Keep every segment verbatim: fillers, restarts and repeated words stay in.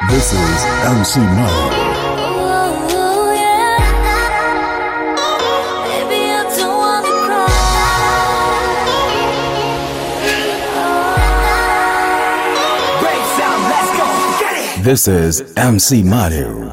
This is M C Money. Oh, yeah. Baby, I don't wanna cry. Great sound, let's go, get it! This is M C Money.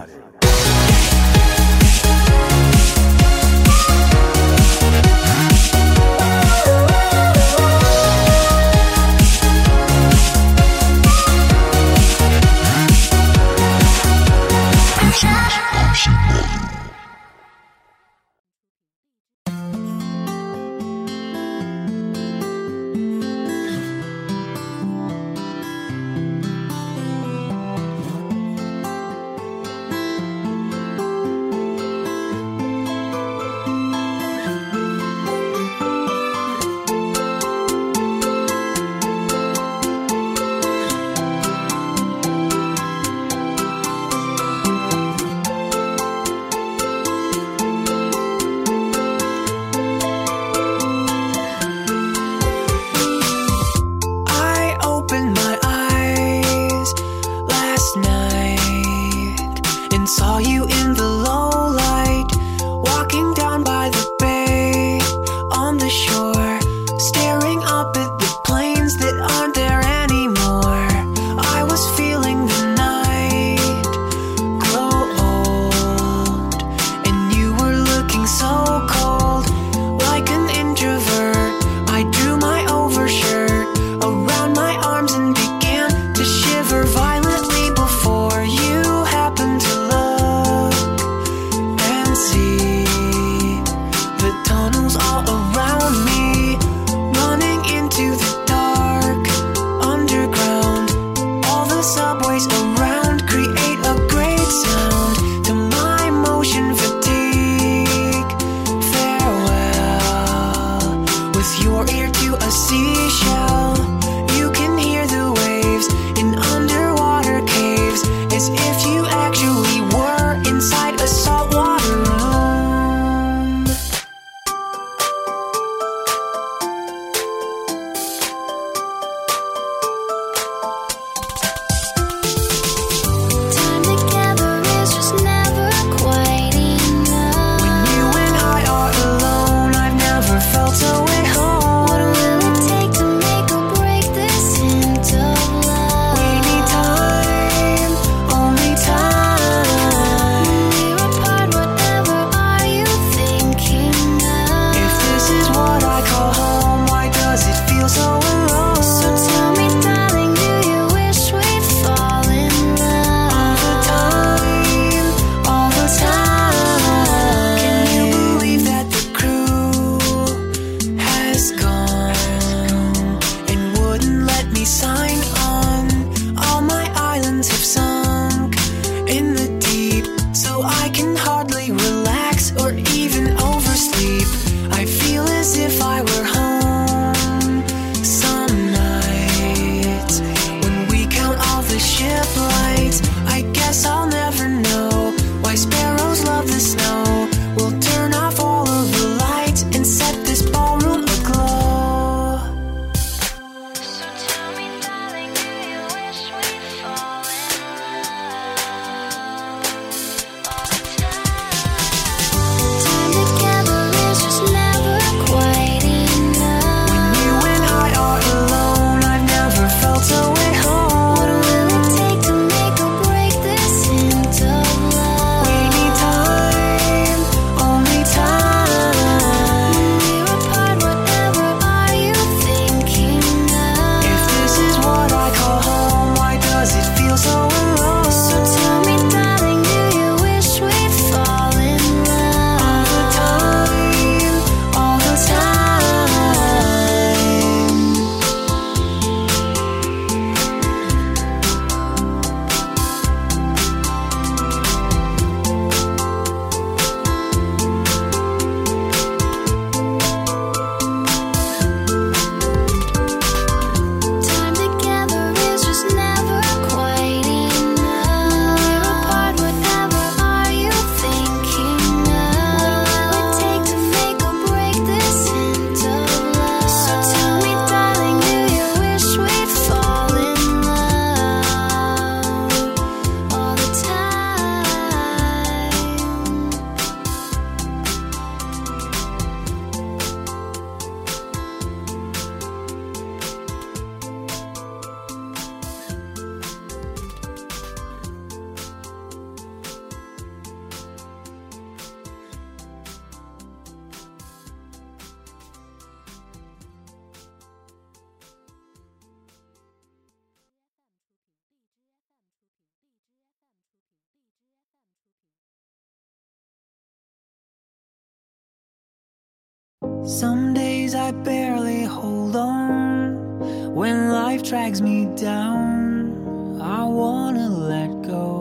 Some days I barely hold on. When life drags me down, I wanna let go.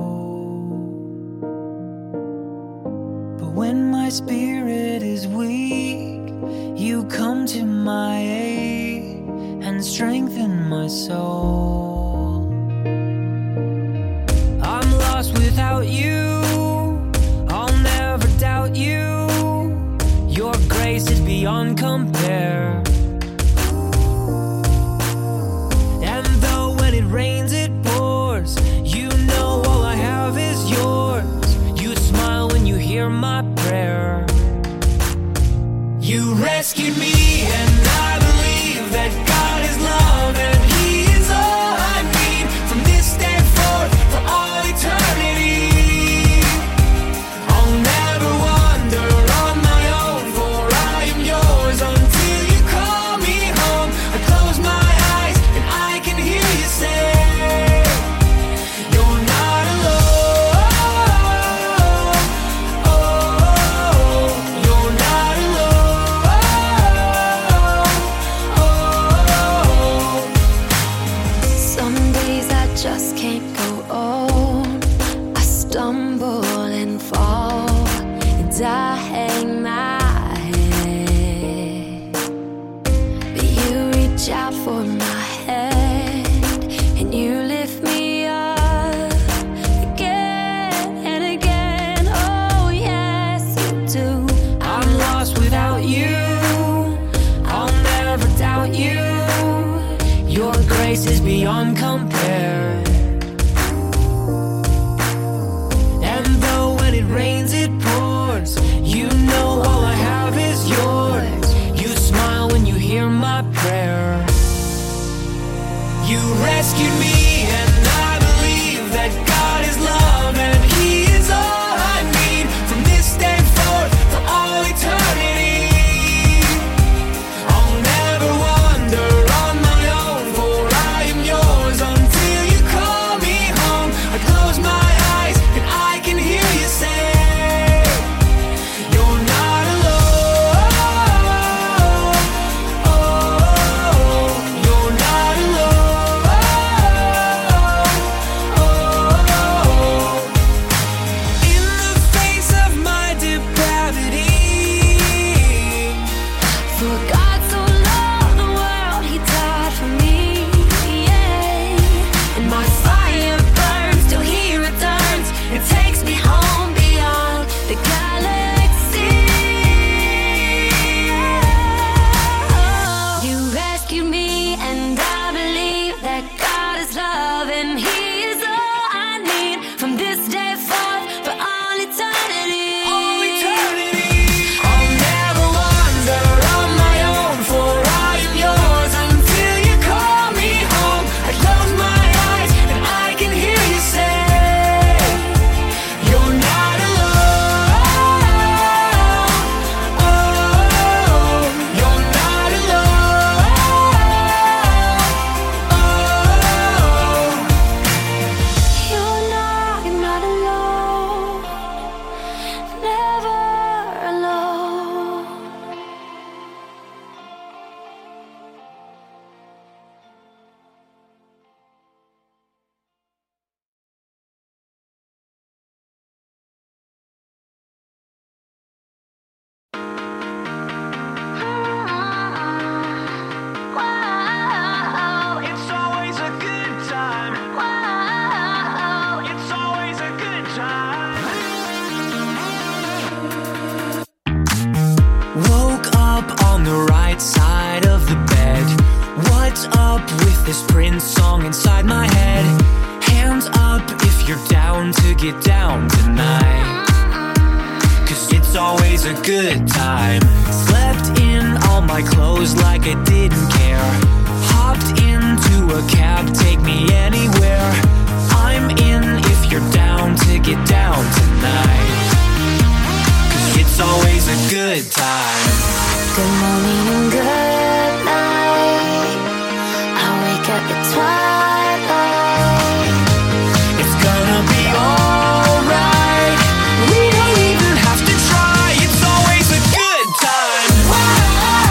But when my spirit is weak, you come to my aid and strengthen my soul. I'm lost without you, I'll never doubt you. Your grace is beyond compare. And though when it rains it pours, you know all I have is yours. You smile when you hear my prayer. You rescued me and I believe that God is love and He is all I need from this day forth for all eternity. I'll never wander on my own, for I am yours until you call me home. I close my eyes and I can hear you say, you're not alone. Oh, you're not alone. Some days I just can't go on. I stumble and fall, and I hang my head. But you reach out for my hand, and you lift me up again and again. Oh yes, you do. I'm lost without you, I'll never doubt you. Your grace is beyond compare. And though when it rains it pours, you know all I have is yours. You smile when you hear my prayer. You rescued me and I believe that God is love and He is all I need from this day forth for all eternity. I'll never wander on my own, for I am yours until you call me home. I close my eyes and I can hear you say, you're not alone. Oh, you're not alone. Oh, in the face of my depravity, for God so loved the world, He died for me, yeah. And my fire burns till He returns and takes me home beyond the galaxy. You rescued me and I believe that God is love and He is all I need from this day forth for all eternity. All eternity. I'll never wander on my own, for I am yours until you call me home. I close my eyes and I can hear you say, you're not alone. Oh, you're not alone. Oh, you're not, you're not alone. Never alone. Wow, it's always a good time. Wow, it's always a good time. Woke up on the right side of the bed. What's up with this Prince song inside my head? Hands up if you're down to get down tonight, 'cause it's always a good time. Slept in all my clothes like I didn't care. Hopped into a cab, take me anywhere. I'm in if you're down to get down tonight, 'cause it's always a good time. Good morning and good night. I wake up at twilight. It's gonna be alright. We don't even have to try. It's always a good time. Wow.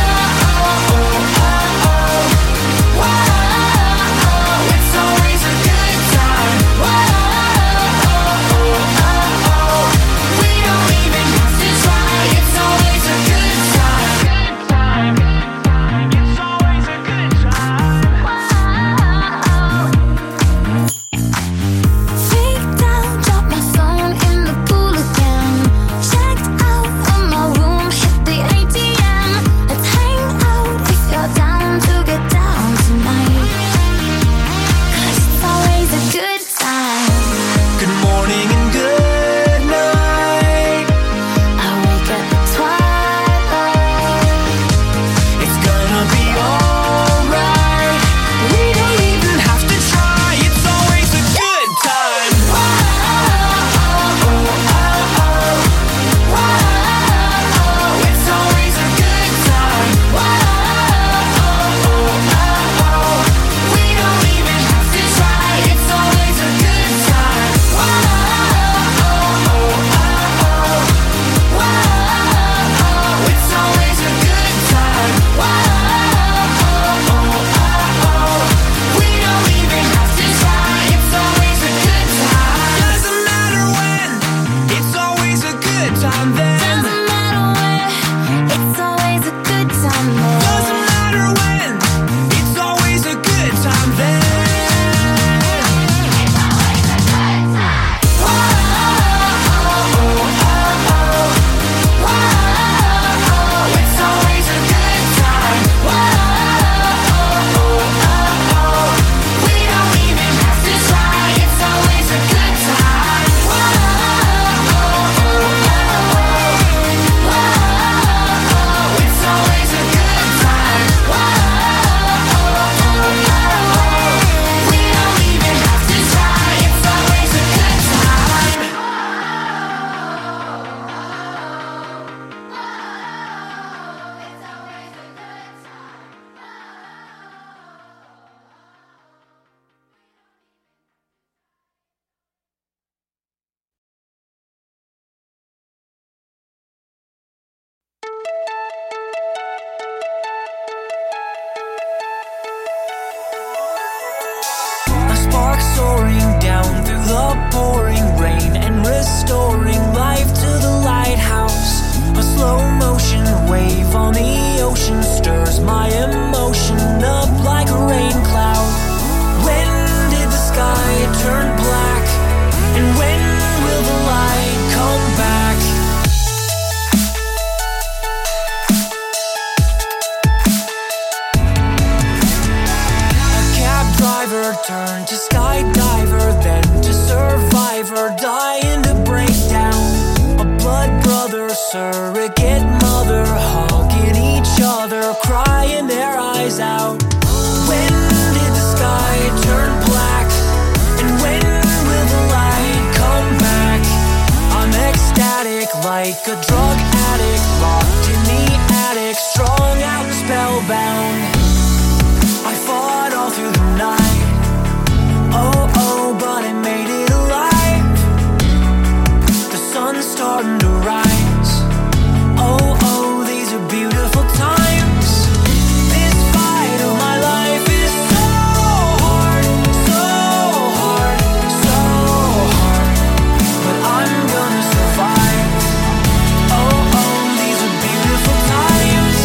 like a drug addict, locked in the attic, strung out, spellbound. I fought all through the night. Oh, oh, but I made it alive. The sun's starting to rise. Oh, oh, these are beautiful times. This fight of my life is so hard, so hard, so hard. But I'm gonna survive. Oh, oh, these are beautiful times.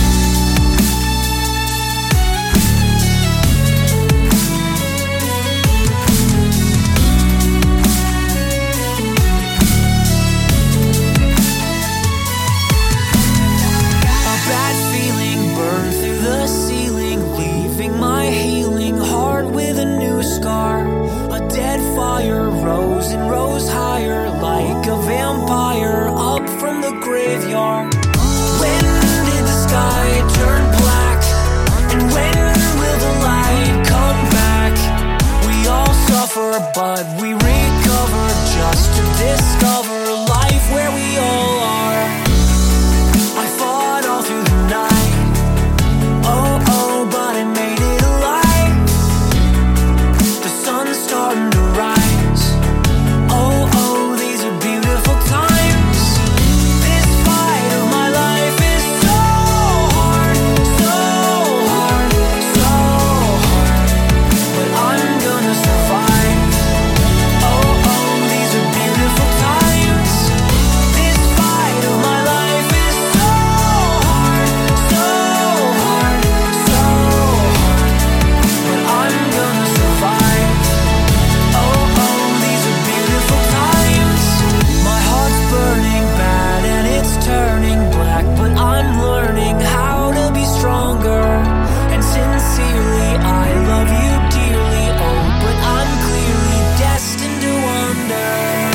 A bad feeling burned through the ceiling, leaving my healing heart with a new scar. A dead fire rose and rose higher, like a vampire up from the graveyard. When did the sky turn black? And when will the light come back? We all suffer, but we recover, just to discover life where we all are. I fought all through the night. Oh, oh, but I made it alive. The sun's starting to rise. Oh, oh, these are beautiful times. This fight of my life is so hard, so hard, so hard. But I'm gonna survive. Oh, oh, these are beautiful times. This fight of my life is so hard, so hard, so hard. But I'm gonna survive. Oh, oh, these are beautiful times. My heart's burning bad and it's turning black, but I'm learning how to be stronger. And sincerely, I love you dearly. Oh, but I'm clearly destined to wander.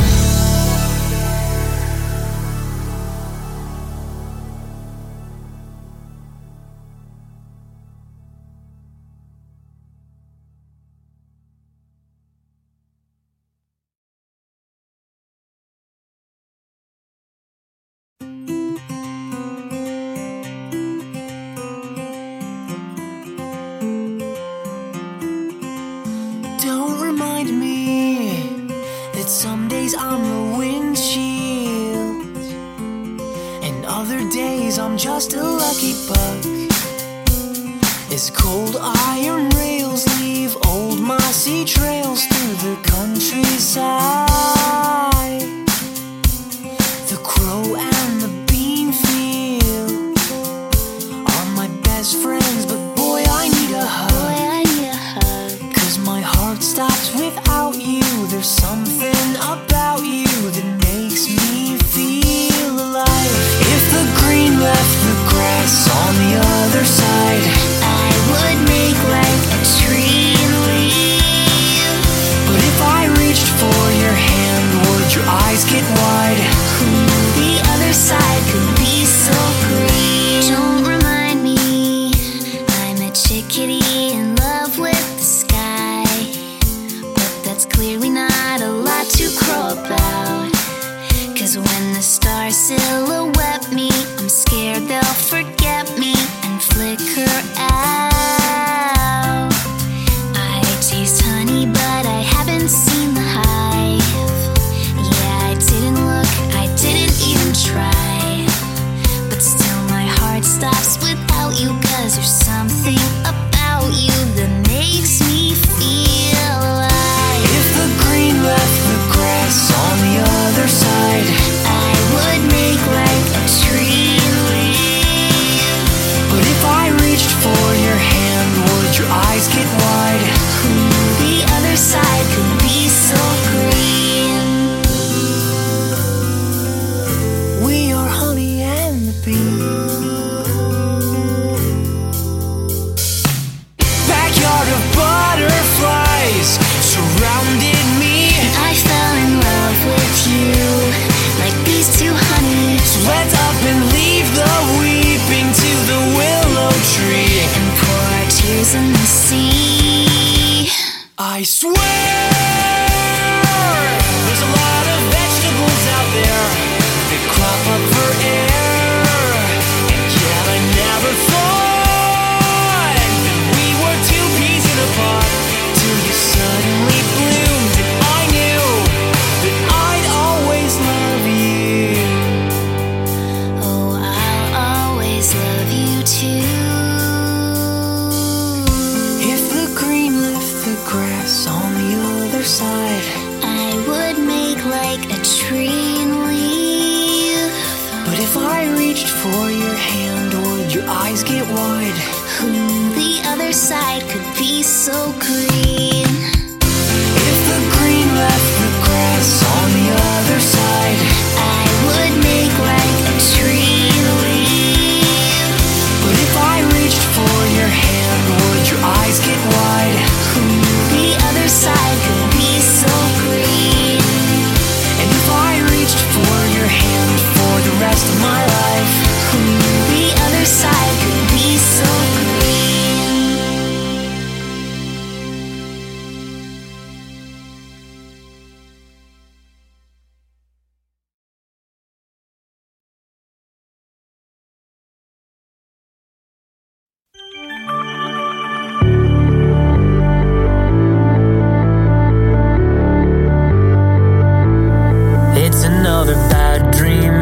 Don't remind me that some days I'm the windshield, and other days I'm just a lucky buck. As cold iron rails leave old mossy trails through the countryside, the crow and the bean field are my best friends, but boy, I need a hug. Cause my heart stops without you. There's something about you that makes me feel alive. If the green left the grass on the other side, I would make like a tree and leave. but if I reached for your hand, would your eyes get wide? Who knew the other side could be so green? Don't remind me, I'm a chickadee in love with the sky, but that's clearly not a lot to crow about. Cause when the stars silhouette me, I'm scared they'll forget me and flicker out. I taste honey, but I haven't seen the hive. Yeah, I didn't look, I didn't even try. But still my heart stops without you, cause there's something about you that makes me feel alive. If the green left the grass on the other side, I would make like like a tree and leave. But if I reached for your hand, would your eyes get wide? Ooh, the other side could be so green. If the green left the grass on the other side, I would make like a tree and leave. but if I reached for your hand, would your eyes get wide? Ooh, the other side could be so green. And if I reached for your hand for the rest of my life, Ooh, the other side could be so green. it's another bad dream.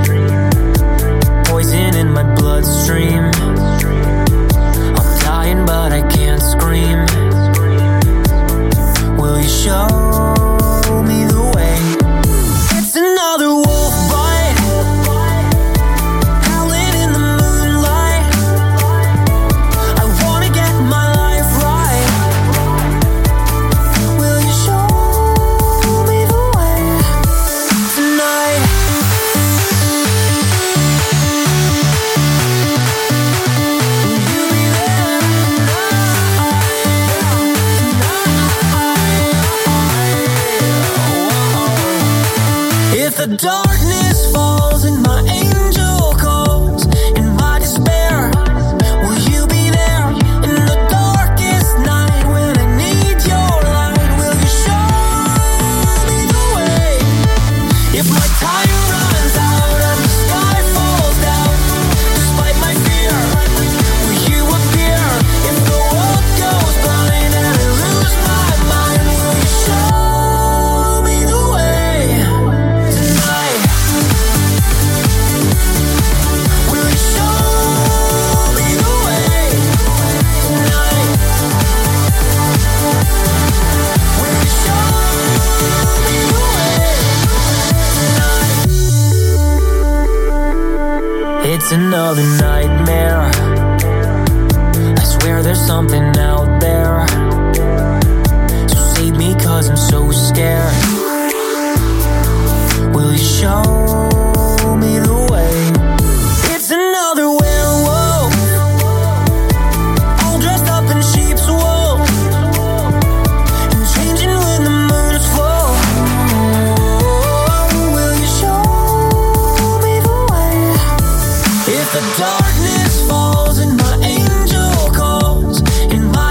Poison in my bloodstream. I'm dying but I can't scream. Will you show me the way? It's another wolf bite, howling in the moonlight. I wanna get my life right. Will you show me the way tonight? Will you be there tonight? If the darkness falls and my angel calls in my despair, will you be there in the darkest night when I need your light? Will you show me the way? If my time runs out and the sky falls down, despite my fear, will you appear? If the world goes blind and I lose my mind, will you show me the way tonight? Will you show me the way tonight? Will you show me the way tonight? It's another nightmare. I swear there's something out there. So save me 'cause I'm so scared. Will you show me the way? It's another werewolf, all dressed up in sheep's wool, and changing when the moon's full. Will you show me the way? If the darkness falls and my angel calls in my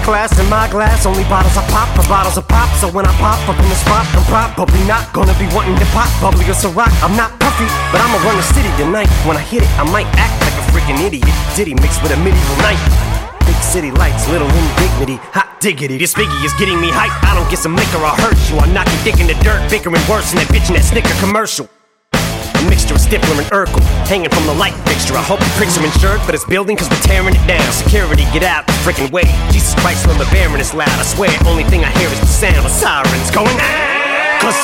class in my glass, only bottles I pop for bottles of pop. So when I pop up in the spot, I'm probably not gonna be wanting to pop bubbly or Ciroc. I'm not puffy, but I'ma run the city tonight. When I hit it, I might act like a freaking idiot. Diddy mixed with a medieval knight. Big city lights, little indignity, hot diggity. This Biggie is getting me hype. I don't get some liquor, I'll hurt you. I'll knock your dick in the dirt, bickering worse than that bitch in that Snicker commercial. A mixture of Stifler and Urkel, hanging from the light fixture. I hope the pricks are insured for this building, cause we're tearing it down. Security, get out the freaking way. Jesus Christ, when the baron is loud, I swear, only thing I hear is the sound of sirens going, ah! Cause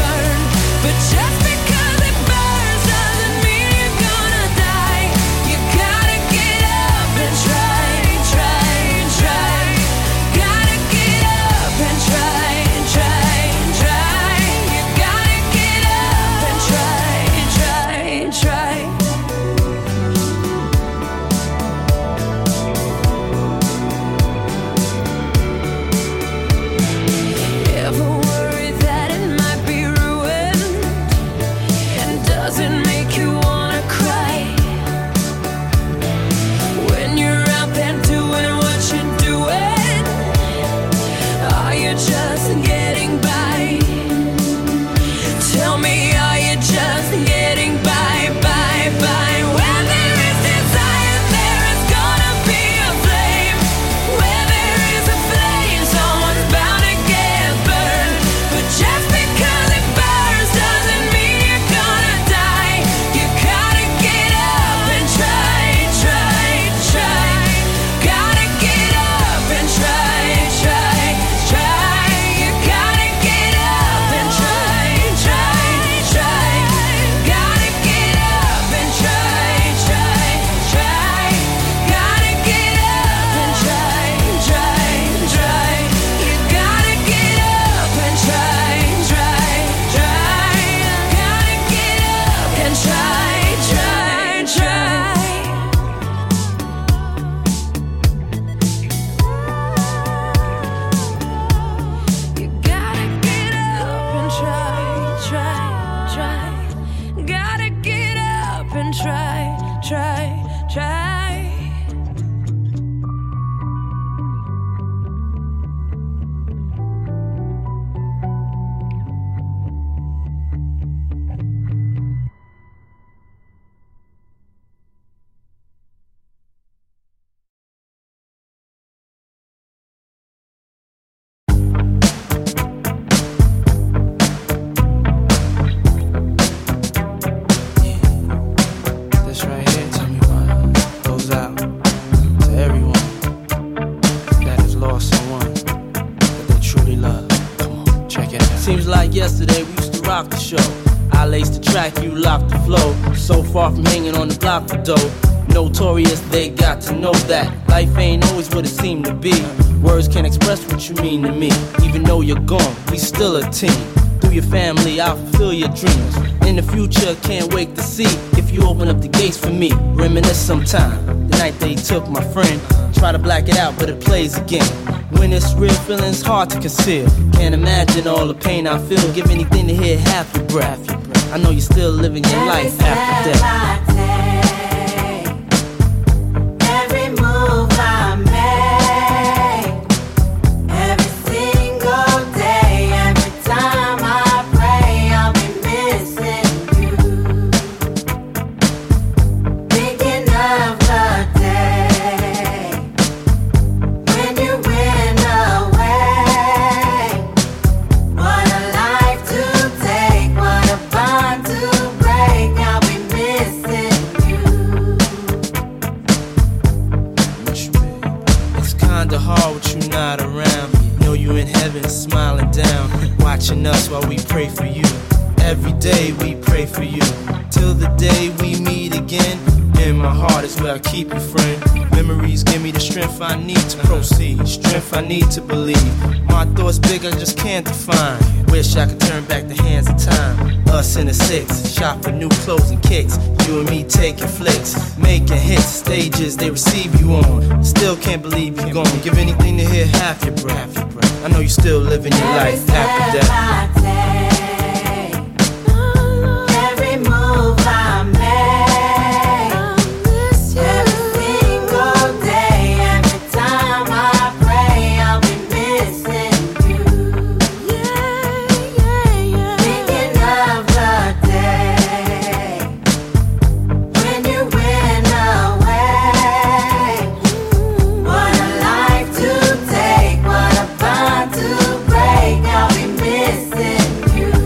just because it burns doesn't mean you're gonna die. You rock the show. I lace the track, you lock the flow. So far from hanging on the block for dough. Notorious, they got to know that life ain't always what it seemed to be. Words can't express what you mean to me. Even though you're gone, we still a team. Through your family, I'll fulfill your dreams. In the future, can't wait to see if you open up the gates for me. Reminisce sometime, the night they took my friend. Try to black it out, but it plays again. When it's real, feeling's hard to conceal. Can't imagine all the pain I feel. Give anything to hear half your breath. I know you're still living your life after death. Every move I make, every single day, every time I pray, I'll be missing you. Thinking of the day when you went away. What a life to take, what a bond to break. I'll be missing you. It's kinda hard with you not around. Know you in heaven smiling down, watching us while we pray for you. Every day we pray for you, till the day we meet again. In my heart is where I keep you, friend. Memories give me the strength I need to proceed, strength I need to believe. My thoughts big, I just can't define. Wish I could turn back the hands of time. Us in the six, shop for new clothes and kicks. You and me taking flicks, making hits, stages they receive you on. Still can't believe you're gone. Give anything to hear half your breath. I know you're still living your life after death. Every move I make, every single day, every time I pray, I'll be missing you. Thinking of the day when you went away. What a life to take, what a bond to break. I'll be missing you.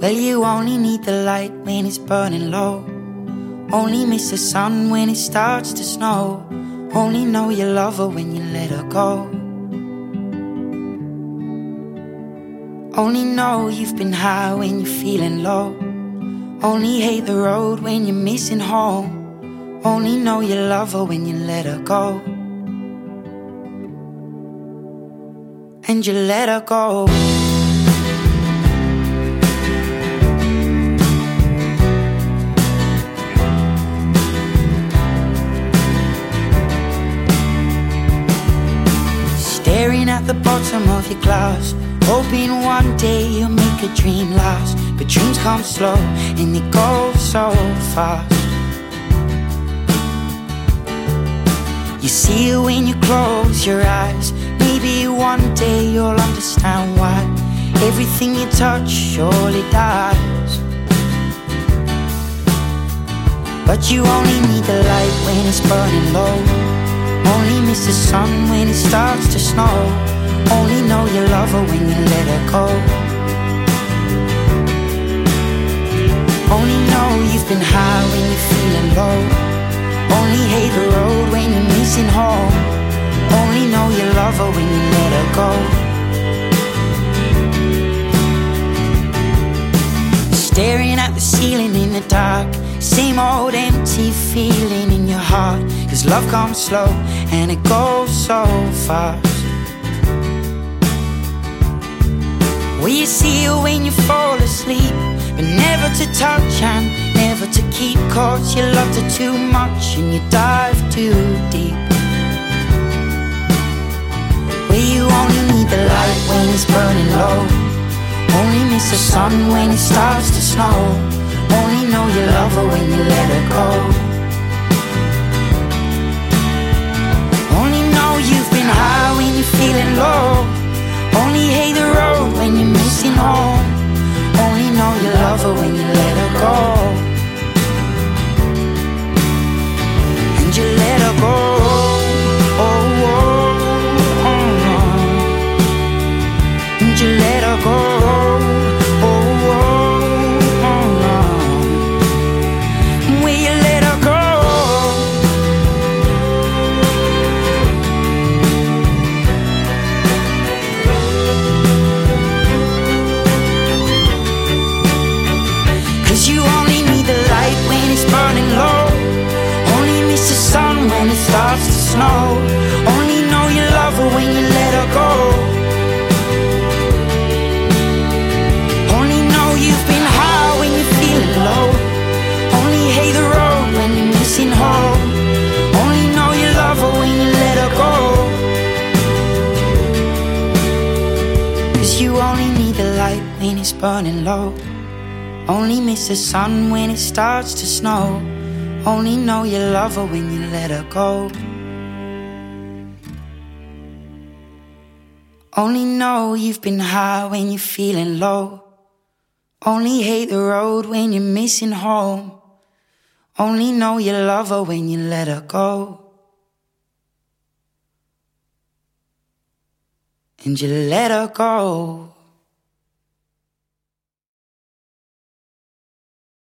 Well, you only need the light when it's burning low. Only miss the sun when it starts to snow. Only know you love her when you let her go. Only know you've been high when you're feeling low. Only hate the road when you're missing home. Only know you love her when you let her go. And you let her go. Staring at the bottom of your glass, hoping one day you'll make a dream last. But dreams come slow and they go so fast. You see it when you close your eyes. Maybe one day you'll understand why everything you touch surely dies. But you only need the light when it's burning low. Only miss the sun when it starts to snow. Only know you love her when you let her go. Only know you've been high when you're feeling low. Only hate the road when you're missing home. Only know you love her when you let her go. Staring at the ceiling in the dark, same old empty feeling in your heart. Cause love comes slow and it goes so fast. Well, you see it when you fall asleep, but never to touch and never to keep. Cause you loved her too much and you dive too deep. Well, you only need the light when it's burning low. Only miss the sun when it starts to snow. Only know you love her when you let her go. Only know you've been high when you're feeling low. Only hate the road when you're missing home. Only know you love her when you let her go. And you let her go. Oh, oh, oh. And you let her go. Starts to snow. Only know you love her when you let her go. Only know you've been high when you're feeling low. Only hate the road when you're missing home. Only know you love her when you let her go. Cause you only need the light when it's burning low. Only miss the sun when it starts to snow. Only know you love her when you let her go. Only know you've been high when you're feeling low. Only hate the road when you're missing home. Only know you love her when you let her go. And you let her go.